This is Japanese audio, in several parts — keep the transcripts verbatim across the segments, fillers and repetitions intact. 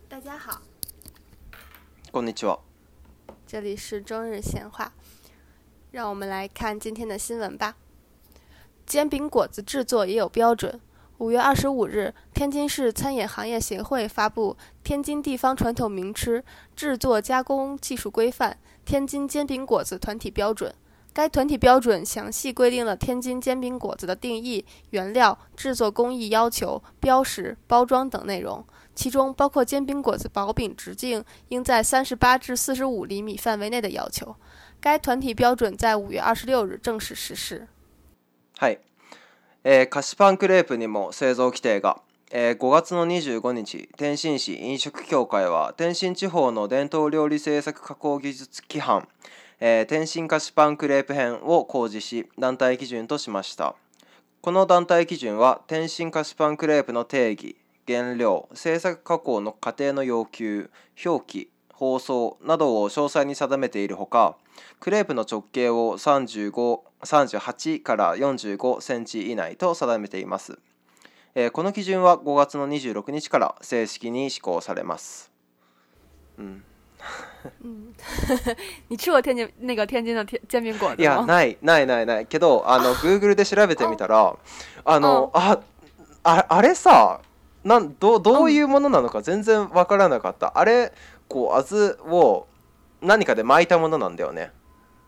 大家好， こんにちは。 这里是中日闲话，让我们来看今天的新闻吧。煎饼果子制作也有标准。五月二十五日，天津市餐饮行业协会发布《天津地方传统名吃制作加工技术规范——天津煎饼果子团体标准》。该团体标准详细规定了天津煎饼果子的定义、原料、制作工艺要求、标识、包装等内容，其中包括煎饼果子薄饼直径应在三十八至四十五厘米范围内的要求。该团体标准在五月二十六日正式实施。 はい、えー、菓子パンクレープにも製造規定が、えー、ごがつのにじゅうごにち、天津市飲食協会は天津地方の伝統料理製作加工技術規範、えー、天津菓子パンクレープ編を公示し、団体基準としました。この団体基準は天津菓子パンクレープの定義、原料、製作加工の過程の要求、表記、包装などを詳細に定めているほか、クレープの直径をさんじゅうご、さんじゅうはちからよんじゅうごセンチ以内と定めています。えー、この基準はごがつのにじゅうろくにちから正式に施行されます。うん嗯，你吃过天津那个天津的天煎饼果子吗？ いや、ないないないないけど、あの Google で調べてみたら、あのあああれさ、なんどどういうものなのか全然わからなかった。あれこうあずを何かで巻いたものなんだよね。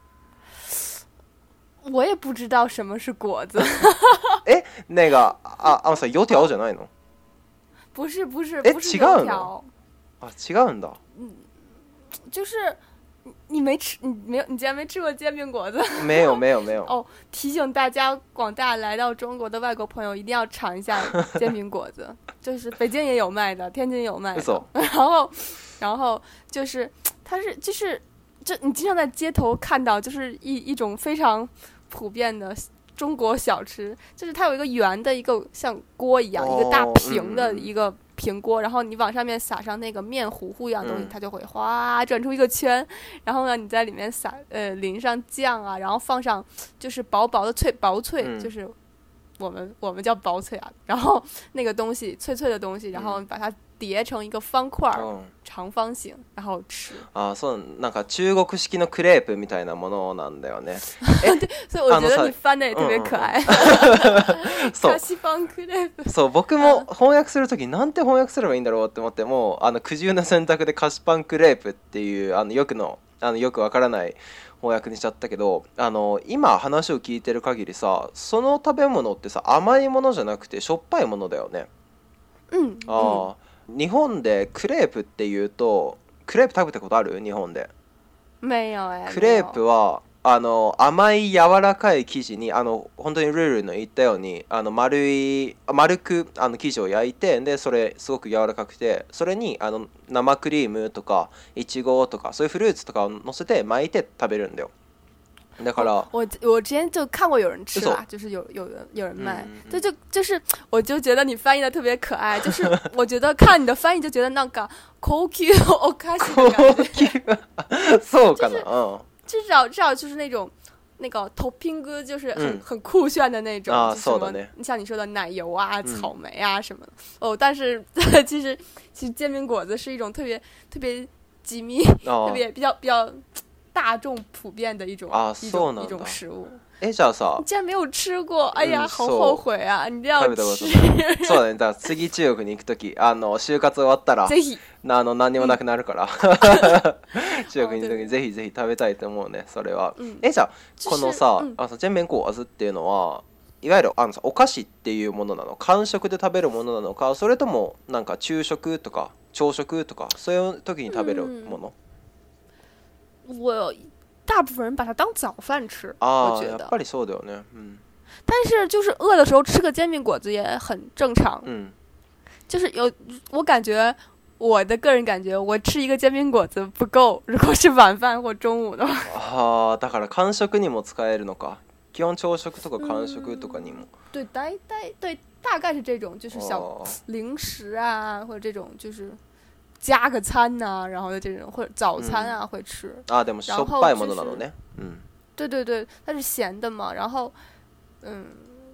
我也不知道什么是果子。 え、那个ああのさ、油条じゃないの？ 不是不是え、 不是違油条。 うの？あ、違うんだ。 就是你没吃，你没有，你竟然没吃过煎饼果子？ 没有没有没有。 哦，提醒大家，广大来到中国的外国朋友一定要尝一下煎饼果子，就是北京也有卖的，天津有卖的。然后，然后就是它是就是这你经常在街头看到，就是一一种非常普遍的中国小吃，就是它有一个圆的一个像锅一样， 哦、 一个大平的一个。平锅，然后你往上面撒上那个面糊糊一样东西， 嗯、 它就会哗转出一个圈。然后呢，你在里面撒呃淋上酱啊，然后放上就是薄薄的脆薄脆， 嗯、 就是我们我们叫薄脆啊。然后那个东西脆脆的东西，然后把它叠成一个方块、嗯、长方形，然后吃。 あ、そう、なんか中国式のクレープみたいなものなんだよね。 对，所以我觉得你翻的也特别可愛。 そう。 菓子パンクレープ。 そう、僕も翻訳するときなんて翻訳すればいいんだろうって思っても、あの苦渋な選択で菓子パンクレープっていうあのよくのあのよくわからない翻訳にしちゃったけど、あの今話を聞いてる限りさ、その食べ物ってさ、甘いものじゃなくてしょっぱいものだよね。 うん。 ああ、日本でクレープっていうと、クレープ食べたことある？日本で。 没有哎。 クレープはあの甘い柔らかい生地に、あの本当にルールの言ったように、あの丸い丸くあの生地を焼いて、でそれすごく柔らかくて、それにあの生クリームとかいちごとかそういうフルーツとかを乗せて巻いて食べるんだよ。だから我我之前就看过有人吃啦，就是有有人有人卖，这、嗯、就就是我就觉得你翻译的特别可爱，就是我觉得看你的翻译就觉得那个高級お菓子的感觉。 そうかな。嗯。 至少至少就是那种那个 topping 就是很、嗯、很酷炫的那种啊， 什么你像你说的奶油啊、草莓啊什么的、嗯、哦，但是其实其实煎饼果子是一种特别特别机密、哦、特别比较比较大众普遍的一种啊， 一种一种食物。 え、じゃあさ、 你竟然没有吃过，哎呀、嗯、好後悔啊！你一定要吃。 そうだね。だから次中国に行くとき、あの就活終わったら、 ぜひあの何にもなくなるから、中国に行くときにぜひぜひ食べたいと思うね。それは。うん、え、じゃあこのさ、あの煎餅果子っていうのは、いわゆるあのさお菓子っていうものなの？間食で食べるものなのか、それともなんか昼食とか朝食とかそういう時に食べるもの？ うん、我。大部分人把它当早饭吃， 啊、 我觉得。 やっぱりそうだよね。嗯。 但是就是饿的时候吃个煎饼果子也很正常。 嗯。 就是有我感觉，我的个人感觉，我吃一个煎饼果子不够，如果是晚饭或中午的话。 ああ、だから間食にも使えるのか。基本朝食とか間食とかにも。 对，大概对，大概是这种，就是小零食啊，或者这种就是。加个餐呐、啊，然后这种或者早餐啊、嗯、会吃啊，でもしょっぱいものなのね。嗯， 对对对，它是咸的嘛，然后嗯，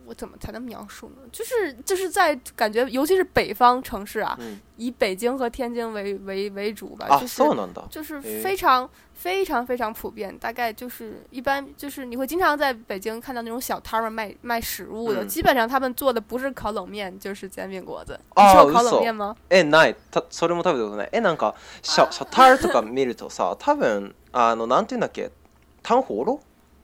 我怎么才能描述呢？就是就是在感觉，尤其是北方城市啊， 嗯、 以北京和天津为为为主吧， 啊， 就是そうなんだ。 就是非常非常非常普遍。大概就是一般就是你会经常在北京看到那种小摊儿卖卖食物的， 嗯、 基本上他们做的不是烤冷面就是煎饼果子。你吃过烤冷面吗？ え、ない。たそれも食べたことない。え、なんかシャシャタールとか見るとさ、多分あのなんていうんだっけ、タンホロ？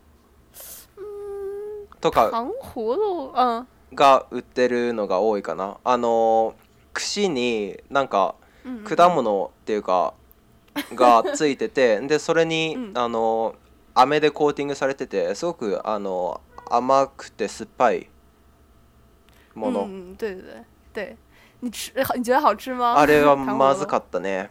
とか糖葫芦、うん、 が売ってるのが多いかな。あの串になんか果物っていうかがついてて、でそれに、うん、あの飴でコーティングされてて、すごくあの甘くて酸っぱいもの。 嗯，对对对对，你吃你觉得好吃吗？ あれはまずかったね。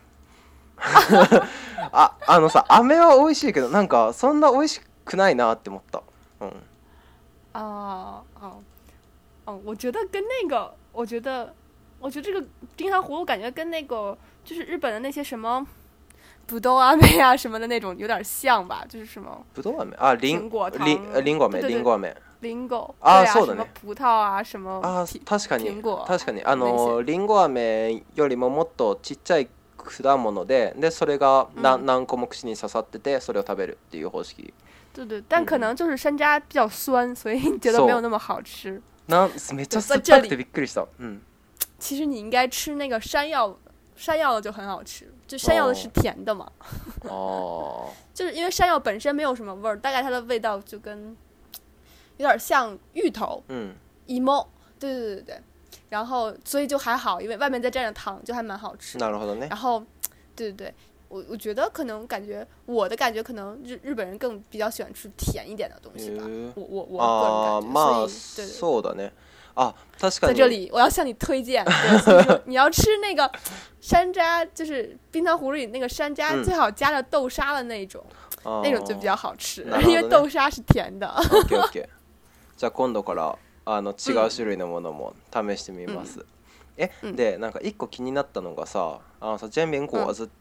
あ、あのさ、飴は美味しいけど、なんかそんな美味しくないなって思った。うん。 啊啊哦，我觉得跟那个，我觉得，我觉得这个冰糖葫芦感觉跟那个就是日本的那些什么葡萄阿妹啊什么的那种有点像吧，就是什么葡萄阿妹啊， 苹果糖、 リンリンゴ飴、リンゴ飴、 リンゴあ、そうだね。 什么葡萄あ、什么あ、確かに蘋果、 確かにあのリンゴ飴よりももっとちっちゃい果物で、でそれがな、うん、何個も口に刺さってて、それを食べるっていう方式。 对对，但可能就是山楂比较酸，所以你觉得没有那么好吃。 那めっちゃ酸っぱくてびっくりした。嗯， 其实你应该吃那个山药，山药的就很好吃，就山药的是甜的嘛。 哦， 就是因为山药本身没有什么味儿，大概它的味道就跟有点像芋头， 嗯 ，imo，对对对对，然后所以就还好，因为外面再蘸着糖，就还蛮好吃。 なるほどね。 然后，对对对。我我觉得可能感觉我的感觉可能日日本人更比较喜欢吃甜一点的东西吧，我我我个人感觉， まあ所以对そうだね。啊，確かに。 在这里我要向你推荐，对，所以说你要吃那个山楂，就是冰糖葫芦里那个山楂，嗯、最好加了豆沙的那种，那种就比较好吃， ね、 因为豆沙是甜的。 オッケーオッケー。じゃあ今度からあの違う種類のものも試してみます。うんえ、うん、でなんか一個気になったのがさ、あのさ煎餅果子って、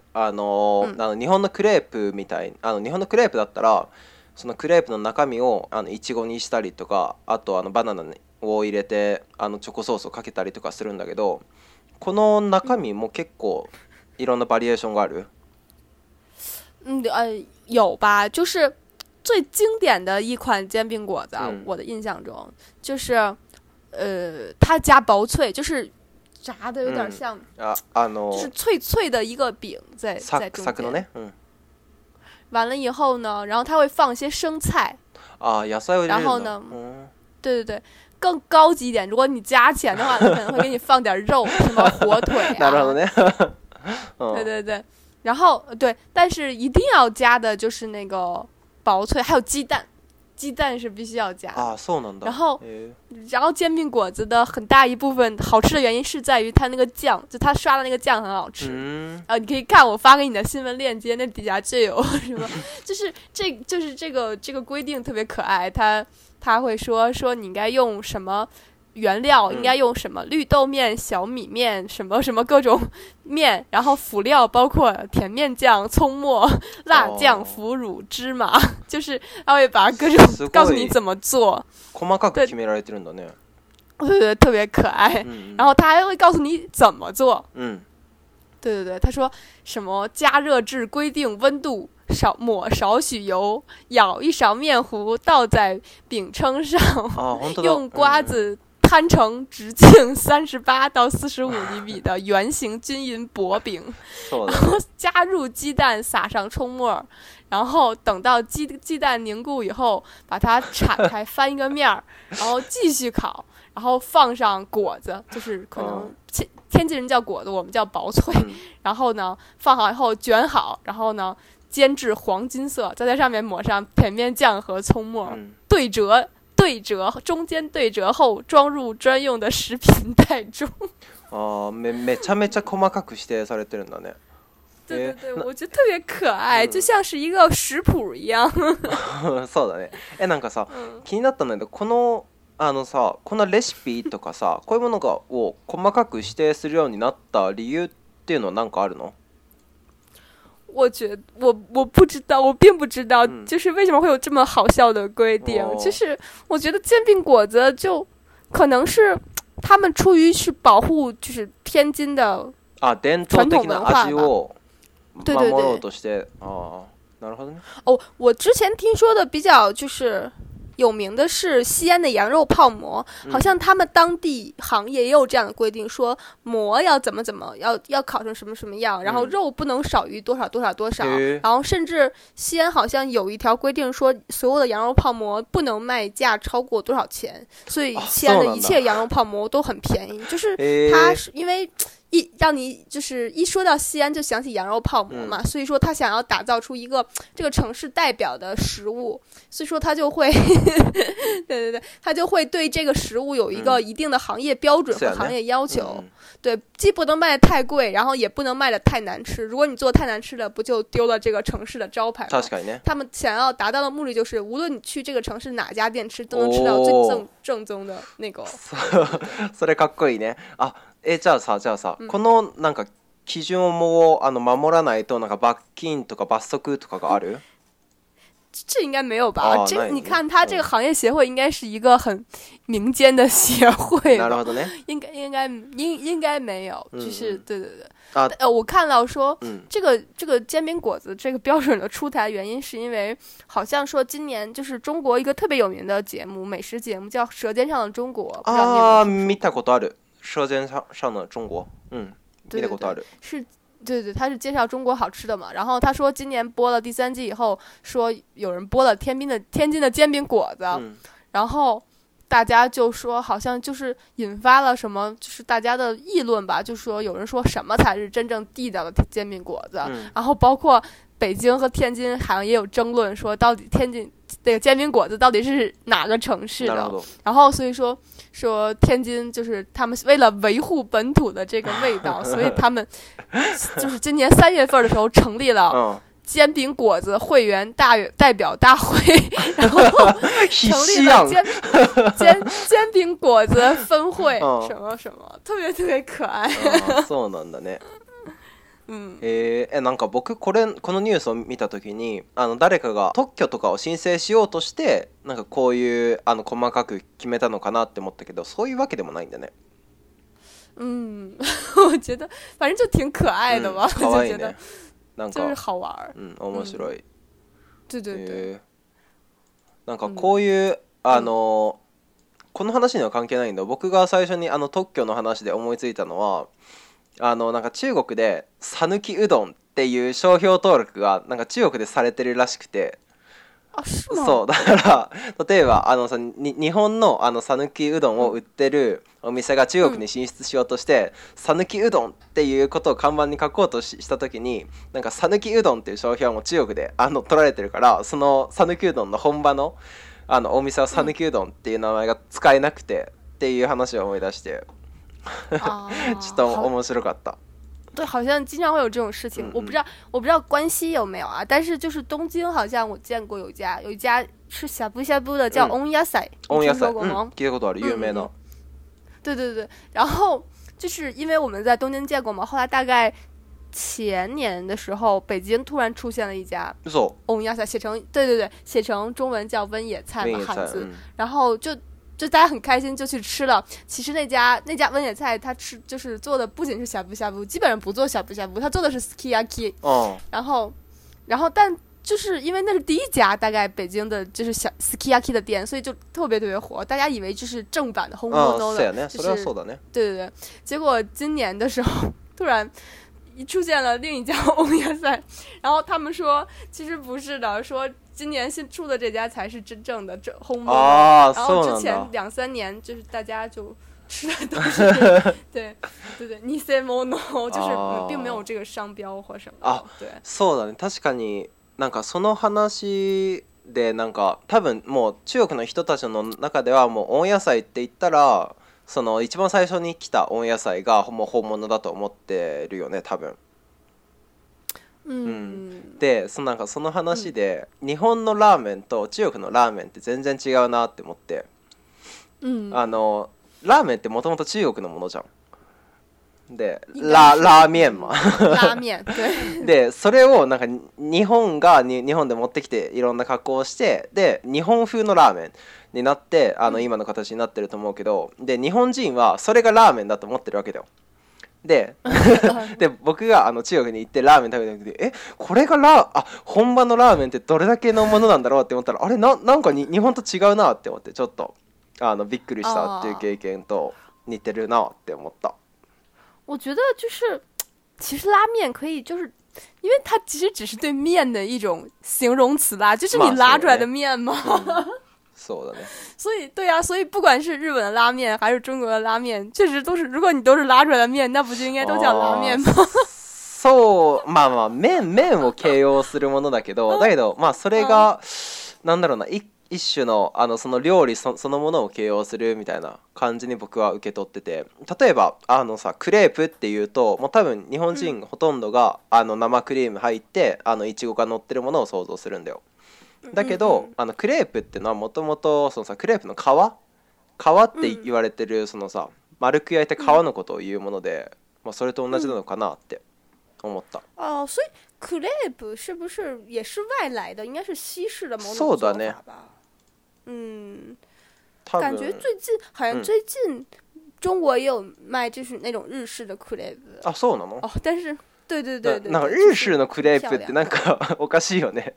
うん、あの、うん、あの日本のクレープみたい、あの日本のクレープだったらそのクレープの中身をあのいちごにしたりとか、あとあのバナナを入れてあのチョコソースをかけたりとかするんだけど、この中身も結構いろんなバリエーションがある。 嗯呃有吧，就是最经典的一款煎饼果子、啊嗯，我的印象中就是。呃，它加薄脆，就是炸的有点像， 嗯、啊啊就是脆脆的一个饼在在中间。 ね、嗯。 完了以后呢，然后它会放一些生菜。 啊，野菜を入れるんだ。 然后呢， 嗯、 对对对，更高级一点，如果你加钱的话，可能会给你放点肉，什么火腿啊。 なるほどね。 对对对，然后对，但是一定要加的就是那个薄脆，还有鸡蛋。鸡蛋是必须要加的啊，そうなんだ。 然后，然后煎饼果子的很大一部分好吃的原因是在于它那个酱，就它刷的那个酱很好吃。 嗯， 啊，你可以看我发给你的新闻链接，那底下就有什么，就是这就是这个这个规定特别可爱，它它会说说你应该用什么原料，应该用什么绿豆面、小米面，什么什么各种面，然后辅料包括甜面酱、葱末、辣酱、腐乳、芝麻，就是他会把各种告诉你怎么做。 細かく決められてるんだね。 对对，特别可爱。 嗯、 然后他还会告诉你怎么做。 嗯， 对对对，他说什么加热至规定温度。少抹少许油，舀一勺面糊，倒在饼铛上， 啊、 用瓜子摊成直径三十八到四十五厘米的圆形均匀薄饼，然后加入鸡蛋，撒上葱末，然后等到鸡鸡蛋凝固以后，把它铲开，翻一个面儿，然后继续烤，然后放上果子，就是可能天天津人叫果子，我们叫薄脆，然后呢放好以后卷好，然后呢。煎至黄金色，再在上面抹上甜面酱和葱末，嗯、对折对折，中间对折后装入专用的食品袋中。 あ、めめちゃめちゃ細かく指定されてるんだね。 对对对，我觉得特别可愛、嗯、就像是一个食譜一样。 そうだね。え、なんかさ、うん、気になったんだけど、このあのさ、このレシピとかさ、こういうものがを細かく指定するようになった理由っていうのは何かあるの？ 我觉得我我不知道，我并不知道， 嗯就是为什么会有这么好笑的规定。 哦就是我觉得煎饼果子就可能是他们出于是保护，就是天津的あ、伝統的な味を守ろうとして、ああ、なるほどね。 哦，我之前听说的比较就是有名的是西安的羊肉泡馍，好像他们当地行业也有这样的规定，说馍要怎么怎么要要烤成什么什么样，然后肉不能少于多少多少多少， 嗯、 然后甚至西安好像有一条规定说，所有的羊肉泡馍不能卖价超过多少钱，所以西安的一切羊肉泡馍都很便宜，就是它是因为。一让你就是一说到西安就想起羊肉泡馍嘛，嗯、所以说他想要打造出一个这个城市代表的食物，所以说他就会对对对，他就会对这个食物有一个一定的行业标准和行业要求。嗯、对，既不能卖的太贵，然后也不能卖的太难吃。如果你做太难吃了，不就丢了这个城市的招牌吗？他们想要达到的目的就是，无论你去这个城市哪家店吃，都能吃到最正正宗的那个。 それかっこいいね。あ。えじゃあさじゃあさ、うん、このなんか基準をあの守らないとなんか罰金とか罰則とかがある？ 这应该没有吧？这你看，他这个行业协会应该是一个很民间的协会吧？应该应该应应该没有，就是、嗯、对对对。啊、呃，我看到说，嗯、这个这个煎饼果子这个标准的出台原因，是因为好像说今年就是中国一个特别有名的节目，美食节目叫《舌尖上的中国》，不知道你有没有听说？ 見たことある。舌尖上的中国，嗯，見たことある。 是，对对，他是介绍中国好吃的嘛。然后他说，今年播了第三季以后，说有人播了天津的天津的煎饼果子，嗯、然后大家就说好像就是引发了什么，就是大家的议论吧，就说有人说什么才是真正地道的煎饼果子，嗯、然后包括北京和天津好像也有争论，说到底天津这个煎饼果子到底是哪个城市的？然后所以说。说天津就是他们为了维护本土的这个味道，所以他们就是今年三月份的时候成立了煎饼果子会员大代表大会，然后成立了煎煎煎饼果子分会，什么什么，特别特别可愛。 そうなんだね。うん、えー、なんか僕これこのニュースを見た時にあの誰かが特許とかを申請しようとしてなんかこういうあの細かく決めたのかなって思ったけどそういうわけでもないんだね。 嗯，我觉得反正就挺可愛的吧， 嗯、可愛いね。なんか就是好玩。 うん、面白い。 嗯、对对对。 えー、なんかこういう、うん、あの、うん、この話には関係ないんだ。僕が最初にあの特許の話で思いついたのは。あのなんか中国で讃岐うどんっていう商標登録がなんか中国でされてるらしくて、 あ、そうそうだから例えばあのさに日本のあの讃岐うどんを売ってるお店が中国に進出しようとして讃岐、うん、うどんっていうことを看板に書こうと し, した時になんか讃岐うどんっていう商標はもう中国であの取られてるからその讃岐うどんの本場のあのお店は讃岐うどんっていう名前が使えなくてっていう話を思い出して。ちょっと面白かった。 对，好像经常会有这种事情。嗯、我不知道，我不知道关西有没有啊？但是就是东京，好像我见过有一家，有一家是呷哺呷哺的，叫 On Yasai， 嗯、 你听说过吗？ 聞いたことある，有名的。 对对对，然后就是因为我们在东京见过嘛，后来大概前年的时候，北京突然出现了一家 On Yasai，写成对对对，写成中文叫温野菜嘛，汉字，嗯、然后就。就大家很开心就去吃了，其实那家那家温野菜他吃就是做的不仅是呷哺呷哺，基本上不做呷哺呷哺，他做的是 sukiyaki，哦，然后然后但就是因为那是第一家大概北京的就是小 sukiyaki 的店，所以就特别特别火，大家以为这是正版的红豆豆的，就是对对对，结果今年的时候突然出现了另一家温野菜，然后他们说其实不是的，说今年新出的这家才是真正的这红豆， 然后之前两三年就是大家就吃的都是对对对偽物就是并没有这个商標或什么。 あ、 对。 そうだね。確かになんかその話でなんか多分もう中国の人たちの中ではもう温野菜って言ったらその一番最初に来た温野菜がもう本物だと思ってるよね多分。 うん、 でそのなんかその話で、うん、日本のラーメンと中国のラーメンって全然違うなって思って、 うん、 あのラーメンってもともと中国のものじゃん。 でララーメン嘛拉面对でそれをなんか日本がに日本で持ってきていろんな加工をしてで日本風のラーメンになってあの今の形になってると思うけどで日本人はそれがラーメンだと思ってるわけだよでで僕があの中国に行ってラーメン食べた時でえこれがラあ本場のラーメンってどれだけのものなんだろうって思ったらあれ な, なんかに日本と違うなって思ってちょっとあのびっくりしたっていう経験と似てるなって思った。 我觉得就是其实拉面可以就是因为它其实只是对面的一种形容词啦，就是你拉出来的面嘛、 嗯、そうだね所以对啊，所以不管是日本的拉面还是中国的拉面确实都是如果你都是拉出来的面那不就应该都叫拉面吗そうまあまあ麺麺を形容するものだけどだけどまあそれがなんだろうな一一種のあのその料理 そ, そのものを形容するみたいな感じに僕は受け取ってて例えばあのさクレープっていうともう多分日本人ほとんどが、うん、あの生クリーム入ってあのいちごが乗ってるものを想像するんだよだけど、うんうん、あのクレープってのはもともとそのさクレープの皮皮って言われてるそのさ丸く焼いた皮のことを言うもので、うんまあ、それと同じなのかなって思った、 うん、あ所以クレープ是不是也是外来的应该是西式的某种做法吧そうだね嗯，感觉最近好像最近中国也有卖就是那种日式的クレープあそうなの哦但是对对对对なんか日式のクレープってなんかおかしいよね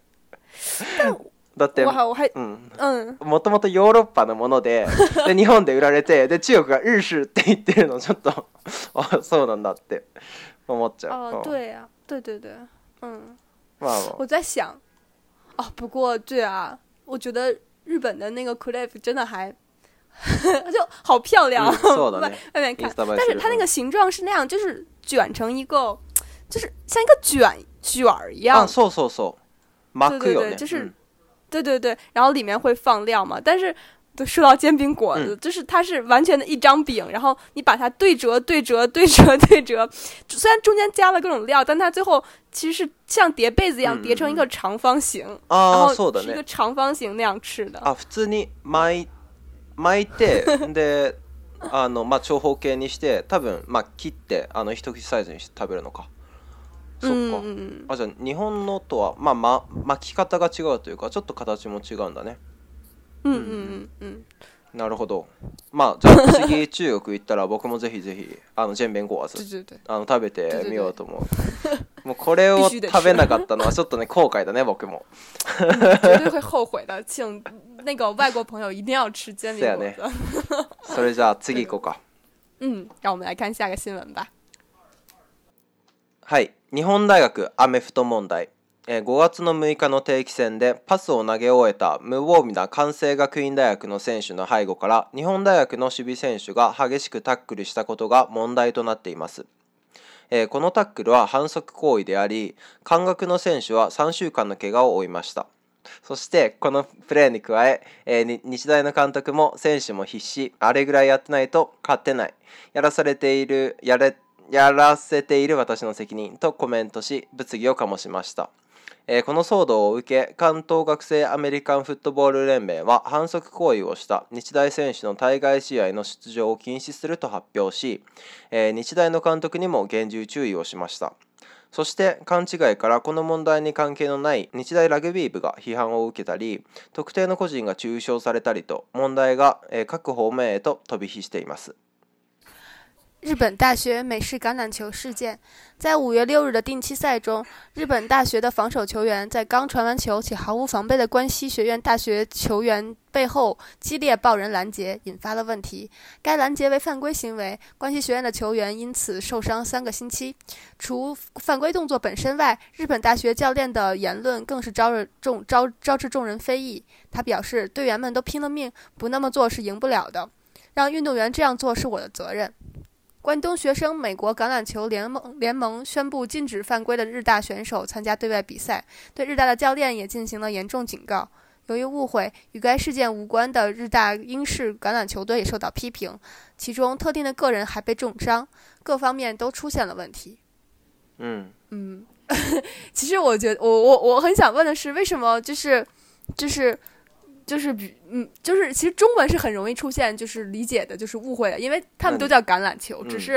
だってもともとヨーロッパのもの で, で日本で売られてで中国が日式って言ってるのちょっとあそうなんだって思っちゃうあ对啊对对对嗯まあ我在想哦不过对啊我觉得日本的那个 crepe 真的还就好漂亮、 嗯外, 外面看但是它那个形状是那样就是卷成一个就是像一个卷卷一样啊そうそうそう巻くよね对对对就是、嗯、对对对然后里面会放料嘛但是说到煎饼果子、嗯、就是它是完全的一张饼然后你把它对折对折对折对折虽然中间加了各种料但它最后其实是像叠被子一样叠成一个长方形、嗯、然后是一个长方形那样吃的あ普通に巻い巻いてであの、まあ、長方形にして多分、まあ、切ってあの一口サイズにして食べるのかそっか、うんうん、あじゃあ日本のとは、まあま、巻き方が違うというかちょっと形も違うんだねうんうんうんうんなるほどまあじゃあ次中国行ったら僕もぜひぜひあの煎餅果子あの食べてみようと思うもうこれを食べなかったのはちょっとね後悔だね僕も绝对会後悔的请那个外国朋友一定要吃煎饼果子それじゃあ次行こうか嗯让我们来看下个新闻吧はい日本大学アメフト問題ごがつのむいかの定期戦でパスを投げ終えた無防備な関西学院大学の選手の背後から日本大学の守備選手が激しくタックルしたことが問題となっています。このタックルは反則行為であり、関学の選手はさんしゅうかんの怪我を負いました。そしてこのプレーに加え、日大の監督も選手も必死、あれぐらいやってないと勝てない、やらされている、やれ、やらせている私の責任とコメントし、物議を醸しました。この騒動を受け関東学生アメリカンフットボール連盟は反則行為をした日大選手の対外試合の出場を禁止すると発表し、日大の監督にも厳重注意をしました。そして勘違いからこの問題に関係のない日大ラグビー部が批判を受けたり特定の個人が中傷されたりと問題が各方面へと飛び火しています。 日本大学美式橄榄球事件，在五月六日的定期赛中，日本大学的防守球员在刚传完球且毫无防备的关西学院大学球员背后激烈抱人拦截，引发了问题。该拦截为犯规行为，关西学院的球员因此受伤三个星期。除犯规动作本身外，日本大学教练的言论更是招人众招招致众人非议。他表示，队员们都拼了命，不那么做是赢不了的，让运动员这样做是我的责任。关东学生美国橄榄球联盟联盟宣布禁止犯规的日大选手参加对外比赛，对日大的教练也进行了严重警告。由于误会，与该事件无关的日大英式橄榄球队也受到批评，其中特定的个人还被重伤，各方面都出现了问题。 嗯嗯，其实我觉得我我我很想问的是，为什么就是就是就是比嗯就是其实中文是很容易出现就是理解的就是误会的，因为他们都叫橄榄球，嗯、只是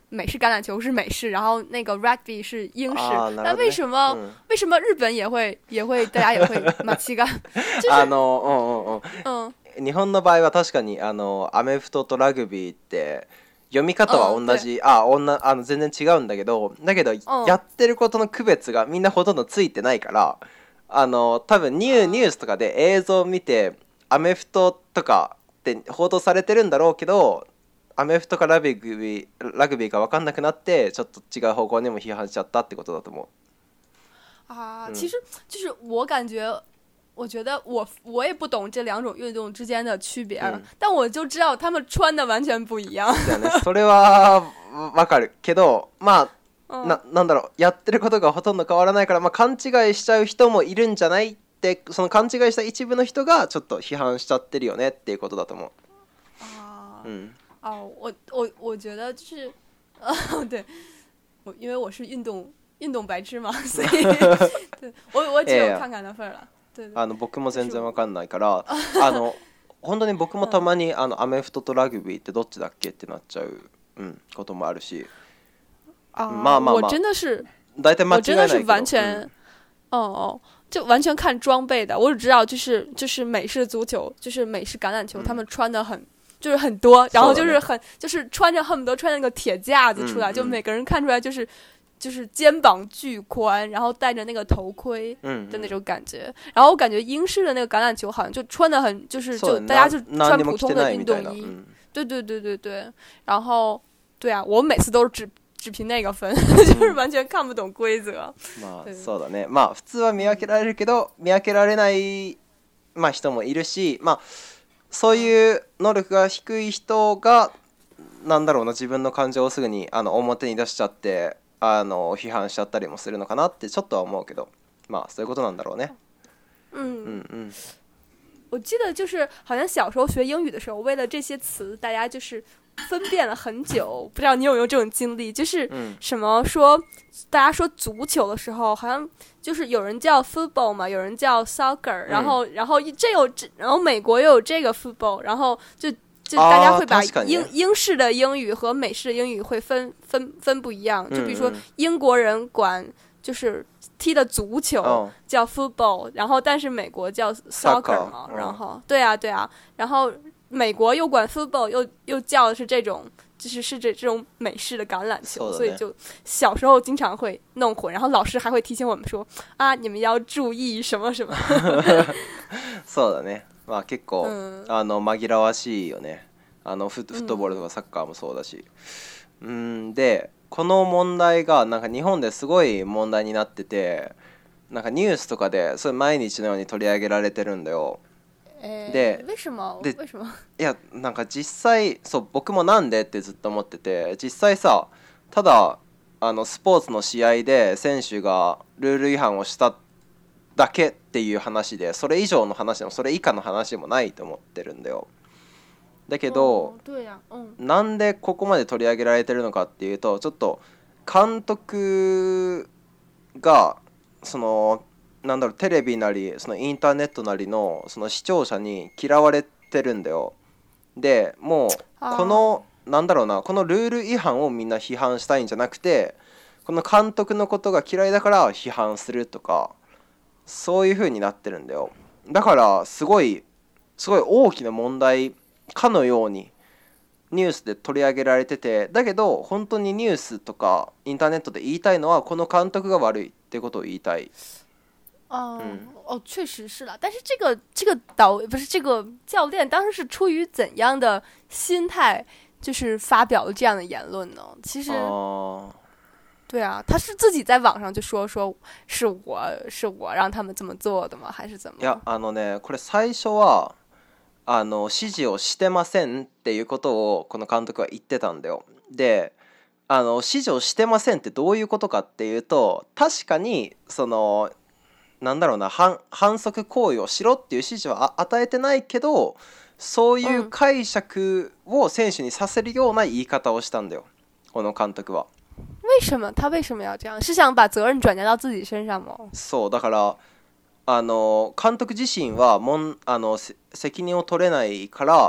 美式橄榄球是美式，然后那个 rugby 是英式。 啊那为什么、 嗯、 为什么日本也会也会大家也会马奇が？就是あのうんうんうん。 嗯。 日本の場合は確かにあのアメフトとラグビーって読み方は同じ、あ女あの全然違うんだけど、だけどやってることの区別がみんなほとんどついてないから、あの多分ニューニュースとかで映像を見てアメフトとかって報道されてるんだろうけど、アメフトかラグビーラグビーか分かんなくなってちょっと違う方向にも批判しちゃったってことだと思う。 啊，其实就是我感觉。我觉得我我也不懂这两种运动之间的区别、嗯、但我就知道他们穿的完全不一样。 ね、それはわかるけど、まあ、うん、な, なんだろうやってることがほとんど変わらないから、まあ、勘違いしちゃう人もいるんじゃないって、その勘違いした一部の人がちょっと批判しちゃってるよねっていうことだと思う。 あ、 うん、 あ、我我我觉得就是、啊、对，我因为我是运动运动白痴嘛，所以对我我只有看看的份了。 あの僕も全然わかんないからあの本当に僕もたまにあのアメフトとラグビーってどっちだっけってなっちゃう、うん、こともあるし、 啊、まあまあまあ我真的是大体間違いないけど、 我真的是完全、嗯、哦哦就完全看装备的，我只知道就是就是美式足球就是美式橄榄球、嗯、他们穿的很就是很多，然后就是很就是穿着恨不得穿那个铁架子出来、嗯、就每个人看出来就是就是肩膀巨宽，然后戴着那个头盔的那种感觉、嗯嗯、然后我感觉英式的那个橄榄球好像就穿的很就是就大家就穿普通的运动衣、嗯、对对对对对，然后对啊我每次都是只只凭那个分、嗯、就是完全看不懂规则。 まあそうだね、まあ普通は見分けられるけど見分けられない、まあ、人もいるし、まあそういう能力が低い人がなんだろうな自分の感情をすぐにあの表に出しちゃってあの批判しちゃったりもするのかなってちょっとは思うけど、まあそういうことなんだろうね。 嗯嗯嗯，我记得就是好像小时候学英语的时候，为了这些词，大家就是分辨了很久。不知道你有没有这种经历？就是什么说、嗯、大家说足球的时候，好像就是有人叫 football 嘛，有人叫 soccer，、嗯、然后然后这有然后美国又有这个 football， 然后就。就大家会把英、哦、英式的英语和美式的英语会分分分不一样，就比如说英国人管就是踢的足球叫 football、哦、然后但是美国叫 soccer 嘛、哦、然后对啊对啊，然后美国又管 football 又又叫的是这种就是是这这种美式的橄榄球，所以就小时候经常会弄混，然后老师还会提醒我们说啊你们要注意什么什么。 そうだね、まあ結構、うん、あの紛らわしいよね。あのフットボールとかサッカーもそうだし、うん、うんでこの問題がなんか日本ですごい問題になってて、なんかニュースとかでそれ毎日のように取り上げられてるんだよ。 えー、 で、 为什么？ で为什么？ いやなんか実際そう僕もなんでってずっと思ってて、実際さただあのスポーツの試合で選手がルール違反をしただけっていう話で、それ以上の話もそれ以下の話もないと思ってるんだよ。だけど、 うん、 なんでここまで取り上げられてるのかっていうと、ちょっと監督がそのなんだろうテレビなりそのインターネットなりのその視聴者に嫌われてるんだよ。でもうこのなんだろうなこのルール違反をみんな批判したいんじゃなくて、この監督のことが嫌いだから批判するとかそういう風になってるんだよ。だからすごいすごい大きな問題かのようにニュースで取り上げられてて、だけど本当にニュースとかインターネットで言いたいのはこの監督が悪いってことを言いたい。 哦、嗯、哦，确实是了。但是这个这个导不是这个教练当时是出于怎样的心态，就是发表了这样的言论呢？其实， 哦、 对啊，他是自己在网上就说说是我是我让他们这么做的吗？还是怎么？ いやあのねこれ最初は。あの指示をしてませんっていうことをこの監督は言ってたんだよ。であの指示をしてませんってどういうことかっていうと、確かにそのなんだろうな 反, 反則行為をしろっていう指示は与えてないけど、そういう解釈を選手にさせるような言い方をしたんだよこの監督は。 为什么他为什么要这样？是想把责任转嫁到自己身上吗？ そうだからあの監督自身はもんあの責任を取れないから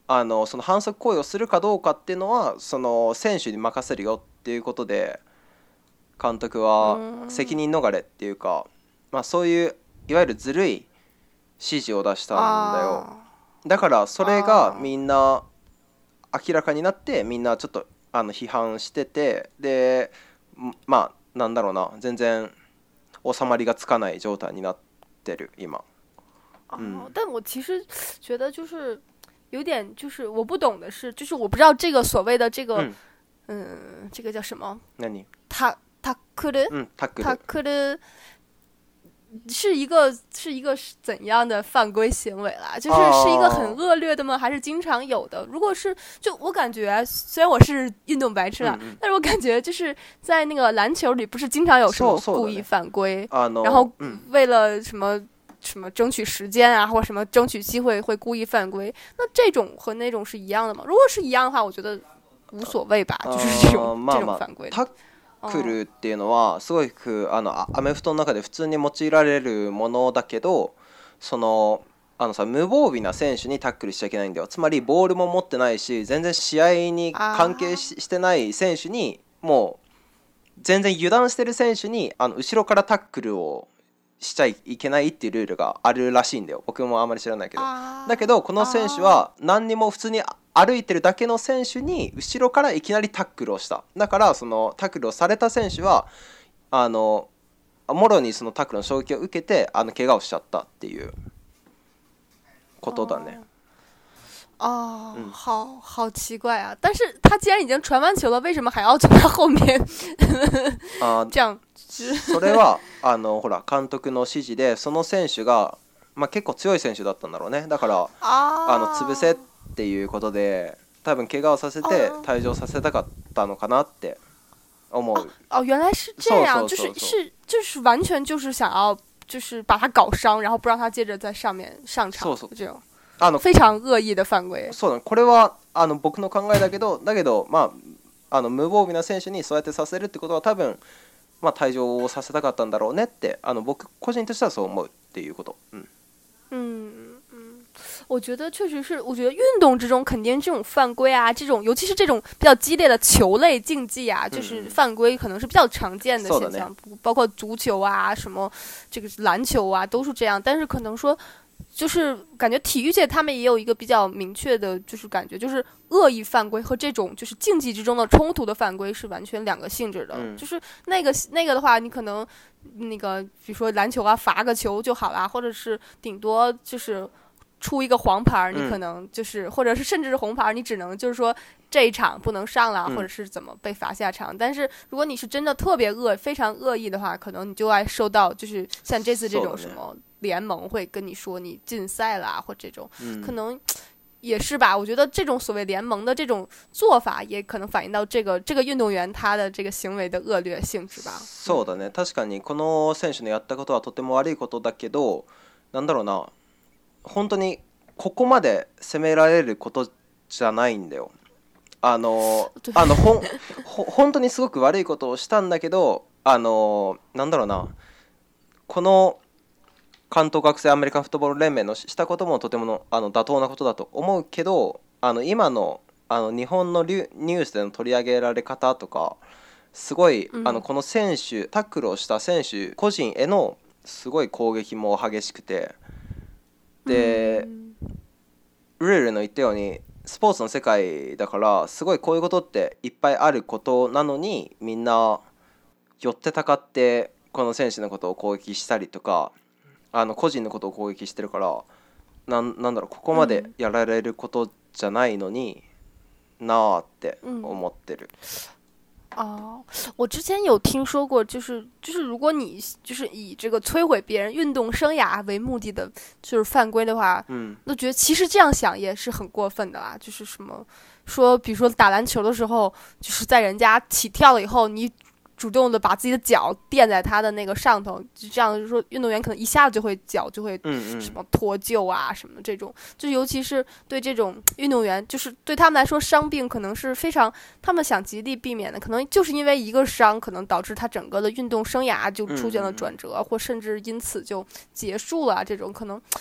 あのその反則行為をするかどうかっていうのはその選手に任せるよっていうことで監督は責任逃れっていうか、まあ、そういういわゆるずるい指示を出したんだよ。だからそれがみんな明らかになってみんなちょっとあの批判してて、でまあなんだろうな、全然収まりがつかない状態になってる今。 嗯、哦，但我其实觉得就是有点，就是我不懂的是，就是我不知道这个所谓的这个，嗯，呃、这个叫什么？ 何？ タタックル？ 嗯，タックル。 タックル是一个是一个怎样的犯规行为啦？就是是一个很恶劣的吗？还是经常有的？如果是，就我感觉，虽然我是运动白痴啦，嗯嗯，但是我感觉就是在那个篮球里，不是经常有什么故意犯规，然后为了什么？什么争取时间啊，或者什么争取机会会故意犯规，那这种和那种是一样的吗？如果是一样的话，我觉得无所谓吧，就是这种まあまあ、 这种犯规。 タックルっていうのはすごくあのアメフトの中で普通に用いられるものだけど、そのあのさ無防備な選手にタックルしちゃいけないんだよ。つまりボールも持ってないし全然試合に関係 し, してない選手にもう全然油断してる選手にあの後ろからタックルをしちゃいけないっていうルールがあるらしいんだよ。僕もあんまり知らないけど。だけどこの選手は何にも普通に歩いてるだけの選手に後ろからいきなりタックルをした。だからそのタックルをされた選手はあのもろにそのタックルの衝撃を受けてあの怪我をしちゃったっていうことだね。 哦，嗯、好好奇怪啊！但是他既然已经传完球了，为什么还要从他后面啊这样？ それはあのほら監督の指示でその選手が、まあ、結構強い選手だったんだろうね。だからあの潰せっていうことで多分怪我をさせて退場させたかったのかなって思う。 哦，原来是这样，就是是就是完全就是想要就是把他搞伤，然后不让他接着在上面上场， そうそう这种。あの非常恶意的犯規。 そうだ、これはあの僕の考えだけど、だけどまああの無防備な選手にそうやってさせるってことは多分まあ退場をさせたかったんだろうねって、あの僕個人としてはそう思うっていうこと。うん。 嗯嗯，我觉得确实是，我觉得运动之中肯定这种犯规啊，这种尤其是这种比较激烈的球类竞技啊，就是犯规可能是比较常见的现象， 嗯、 包括足球啊、什么这个篮球啊都是这样，但是可能说。就是感觉体育界他们也有一个比较明确的，就是感觉就是恶意犯规和这种就是竞技之中的冲突的犯规是完全两个性质的。嗯、就是那个那个的话，你可能那个比如说篮球啊，罚个球就好啦，或者是顶多就是出一个黄牌，你可能就是、嗯、或者是甚至是红牌，你只能就是说这一场不能上了，或者是怎么被罚下场。嗯、但是如果你是真的特别恶非常恶意的话，可能你就爱受到就是像这次这种什么。联盟会跟你说你禁赛啦，或这种、嗯、可能也是吧。我觉得这种所谓联盟的这种做法，也可能反映到这个这个运动员他的这个行为的恶劣性质吧。 そうだね。確かにこの選手のやったことはとても悪いことだけど、なんだろうな、本当にここまで責められることじゃないんだよ。あのあのほんほ本当にすごく悪いことをしたんだけど、あのなんだろうな、この関東学生アメリカンフットボール連盟のしたこともとてものあの妥当なことだと思うけど、あの今のあの日本のニュースでの取り上げられ方とかすごい、うん、あのこの選手タックルをした選手個人へのすごい攻撃も激しくて、で、うん、ルールの言ったようにスポーツの世界だからすごいこういうことっていっぱいあることなのに、みんな寄ってたかってこの選手のことを攻撃したりとか、あの個人のことを攻撃してるから、な ん, なんだろうここまでやられることじゃないのに、うん、なあって思ってる。 哦，我之前有听说过，就是就是如果你就是以这个摧毁别人运动生涯为目的的，就是犯规的话，嗯，那觉得其实这样想也是很过分的啦。就是什么说，比如说打篮球的时候，就是在人家起跳了以后，你。主动的把自己的脚垫在他的那个上头，就这样就是说运动员可能一下子就会脚就会什么脱臼啊什么这种，就尤其是对这种运动员，就是对他们来说伤病可能是非常他们想极力避免的，可能就是因为一个伤可能导致他整个的运动生涯就出现了转折，或甚至因此就结束了，这种可能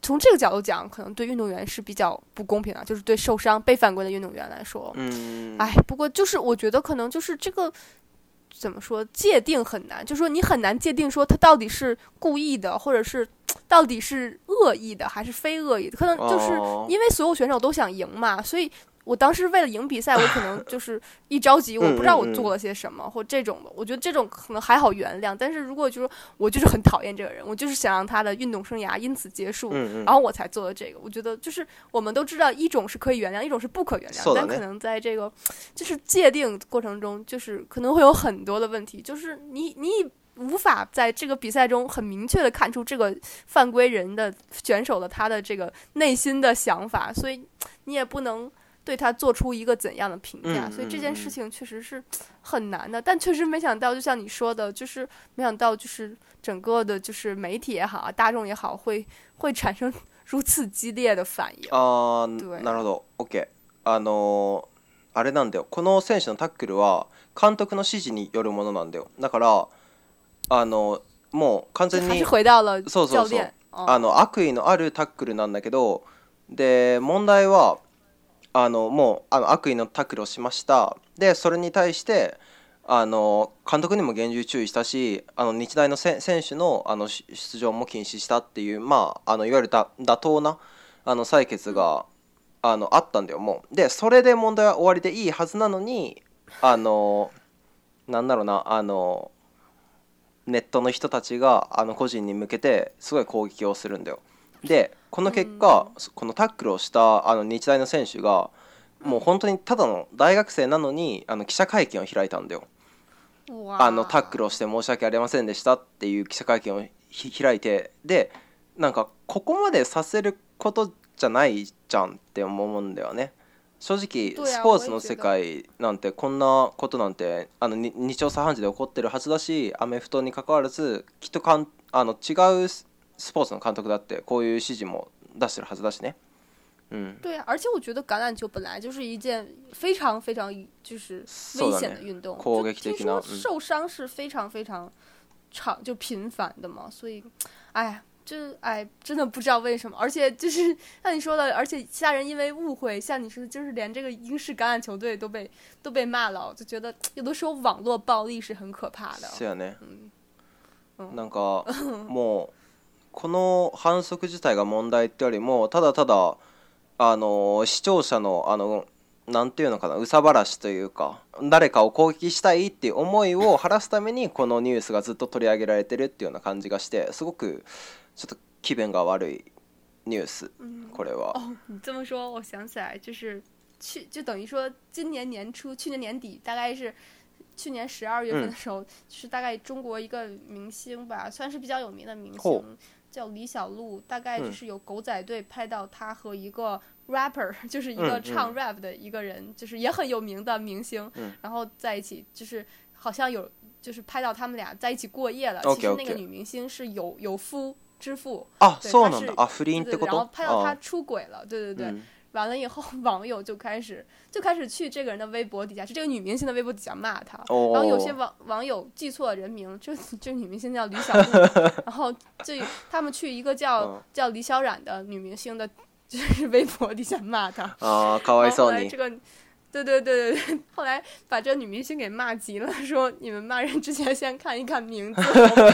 从这个角度讲，可能对运动员是比较不公平的，就是对受伤被犯规的运动员来说。 嗯， 哎，不过就是我觉得可能就是这个怎么说界定很难，就是说你很难界定说他到底是故意的，或者是到底是恶意的还是非恶意的，可能就是因为所有选手都想赢嘛，所以我当时为了赢比赛，我可能就是一着急，我不知道我做了些什么，嗯嗯嗯或这种的，我觉得这种可能还好原谅。但是如果就是我就是很讨厌这个人，我就是想让他的运动生涯因此结束， 嗯嗯然后我才做的这个。我觉得就是我们都知道，一种是可以原谅，一种是不可原谅，但可能在这个就是界定过程中，就是可能会有很多的问题，就是你你。无法在这个比赛中很明确的看出这个犯规人的选手的他的这个内心的想法，所以你也不能对他做出一个怎样的评价， 嗯、 所以这件事情确实是很难的。但确实没想到，就像你说的，就是没想到就是整个的就是媒体也好啊，大众也好，会会产生如此激烈的反应。 あー、なるほど。OK。あのあれなんだよ。この選手のタックルは監督の指示によるものなんだよ。だからあのもう完全に回到了そうそうそうあの悪意のあるタックルなんだけど、で問題はあのもうあの悪意のタックルをしました。でそれに対してあの監督にも厳重注意したし、あの日大の選手のあの出場も禁止したっていう、まあ、あのいわゆるだ妥当なあの採決が、うん、あのあったんだよもう。でそれで問題は終わりでいいはずなのに、あのなんだろうなあのネットの人たちがあの個人に向けてすごい攻撃をするんだよ。でこの結果、うん、このタックルをしたあの日大の選手がもう本当にただの大学生なのにあの記者会見を開いたんだよ。あのタックルをして申し訳ありませんでしたっていう記者会見を開いて、でなんかここまでさせることじゃないじゃんって思うんだよね。正直スポーツの世界なんてこんなことなんてあの日朝茶飯事で起こってるはずだし、アメフトに関わらずきっとかんあの違うスポーツの監督だってこういう指示も出してるはずだしね。嗯， 对啊，而且我觉得橄榄球本来就是一件非常非常就是危险的运动，就听说受伤是非常非常常就频繁的嘛，所以，哎呀。就哎，真的不知道为什么，而且就是像你说的，而且其他人因为误会，像你说的，就是连这个英式橄榄球队都被都被骂了，就觉得有的时候网络暴力是很可怕的。 是やね。嗯嗯、なんかもうこの反則自体が問題ってよりも、ただただあの視聴者のあのなんていうのかな、憂さ晴らしというか、誰かを攻撃したいっていう思いを晴らすためにこのニュースがずっと取り上げられてるっていうような感じがして、すごくちょっと気分が悪いニュース、嗯、これは。 哦，你这么说，我想起来，就是去就等于说今年年初，去年年底，大概是去年十二月份的时候，嗯、就是大概中国一个明星吧，算是比较有名的明星，哦、叫李小璐，大概就是有狗仔队拍到他和一个 rapper， 就是一个唱 rap 的一个人，嗯、就是也很有名的明星，嗯、然后在一起，就是好像有就是拍到他们俩在一起过夜了。 Okay, 其实那个女明星是有有夫。之父啊，そうなんだ。あ、不倫ってこと。 然后拍到他出轨了，对对对。嗯、完了以后，网友就开始就开始去这个人的微博底下，是这个女明星的微博底下骂他。哦、然后有些网网友记错了人名，这这女明星叫李小璐，然后这他们去一个叫、嗯、叫李小冉的女明星的，就是微博底下骂他。 啊，かわいそうに。 这个。对对对对对，后来把这女明星给骂急了，说你们骂人之前先看一看名字。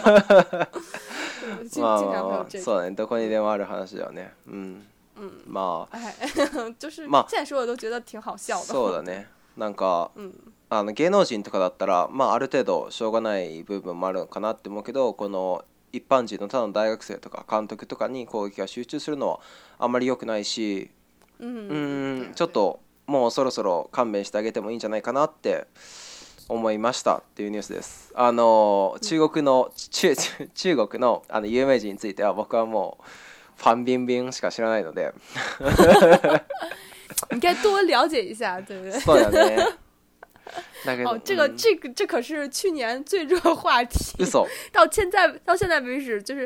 经常会有这个。 そうだね、どこにでもある話だよね。うん。 嗯。 まあ。 哎，就是现在说的都觉得挺好笑的。 そうだね。なんか、うん、あの芸能人とかだったら、まあある程度しょうがない部分もあるのかなって思うけど、この一般人のただの大学生とか監督とかに攻撃が集中するのはあんまり良くないし、うん、うんちょっと。もうそろそろ勘弁してあげてもいいんじゃないかなって思いましたっていうニュースです。あの中国の中中国のあの有名人については僕はもうファンビンビンしか知らないので。 你该多了解一下，对不对？ そうだね。 哦，这个、嗯、这个这可是去年最热话题。 嘘。 到现在到现在为止，就是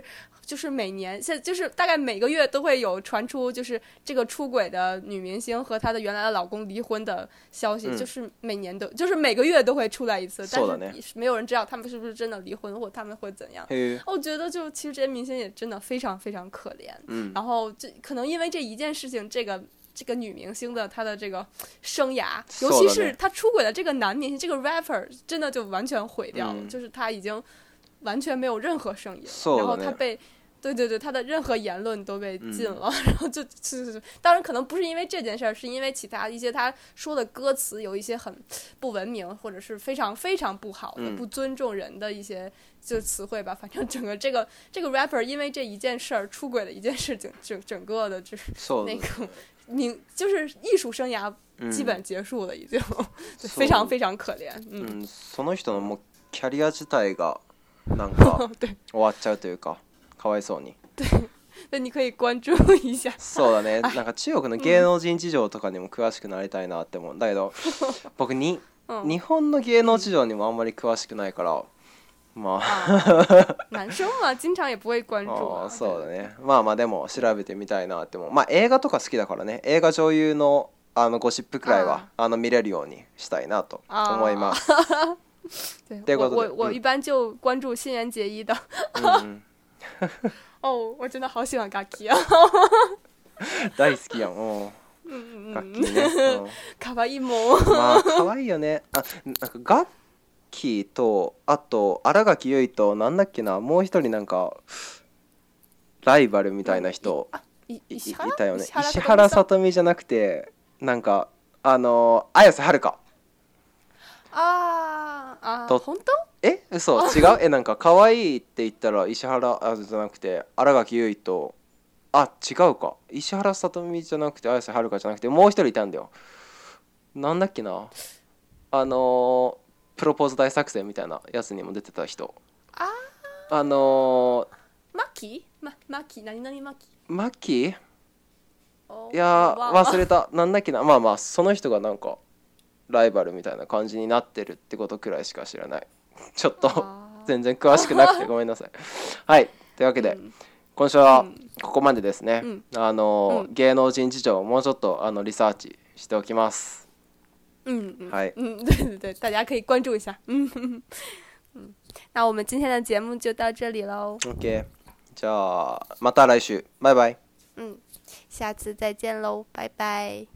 就是每年现就是大概每个月都会有传出就是这个出轨的女明星和她的原来的老公离婚的消息， 嗯就是每年都就是每个月都会出来一次，但そうだね是没有人知道他们是不是真的离婚或他们会怎样。 へえ我觉得就其实这些明星也真的非常非常可怜， 嗯然后这可能因为这一件事情，这个这个女明星的她的这个生涯，尤其是她出轨的这个男明星，这个 rapper 真的就完全毁掉了， 嗯就是他已经完全没有任何声音了， そうだね然后他被。对对对，他的任何言论都被禁了，嗯、然后就就是当然可能不是因为这件事儿，是因为其他一些他说的歌词有一些很不文明，或者是非常非常不好的、嗯、不尊重人的一些就词汇吧。反正整个这个这个 rapper 因为这一件事儿出轨的一件事情，整整个的就是那个名就是艺术生涯基本结束了，已经、嗯、非常非常可怜。 嗯，嗯その人のもうキャリア自体がなんか終わっちゃうというか。かわいそうに。 对，那你可以关注一下。 そうだね。なんか中国の芸能人事情とかにも詳しくなりたいなって思うんだけど、僕に、うん、日本の芸能事情にもあんまり詳しくないから、まあ。 男生は经常也不会关注。 あそうだね。まあまあでも調べてみたいなって思う。まあ映画とか好きだからね。映画女優のあのゴシップくらいはあの見れるようにしたいなと思います。 对，我我我一般就关注新垣结衣的。 嗯哦，我真的好喜欢ガッキー啊！ 大好きやん。おガッキーね。 可愛いもん。 まあ可愛いよね。あ、なんかガッキーとあと新垣結衣となんだっけな、もう一人なんかライバルみたいな人 い, い, いたよね。石原さとみじゃなくてなんかあの綾瀬はるか。 ああ、本当？ え、嘘違うえ、なんか可愛いって言ったら石原あじゃなくて新垣結衣とあ違うか石原さとみじゃなくて綾瀬はるかじゃなくてもう一人いたんだよ。なんだっけなあのプロポーズ大作戦みたいなやつにも出てた人。 ああのマキママキ何々マキマキいや忘れたなんだっけなまあまあその人がなんかライバルみたいな感じになってるってことくらいしか知らない。ちょっと全然詳しくなくてごめんなさい。はい、というわけで、うん、今週はここまでですね。うん、あの、うん、芸能人事情をもうちょっとあのリサーチしておきます。 嗯嗯， はい。 嗯，对对对，大家可以关注一下。嗯嗯，那我们今天的节目就到这里喽。 OK， じゃあまた来週，拜拜。 嗯，下次再见喽，拜拜。